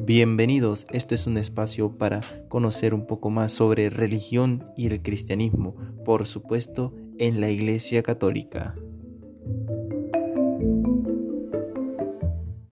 Bienvenidos, esto es un espacio para conocer un poco más sobre religión y el cristianismo, por supuesto, en la Iglesia Católica.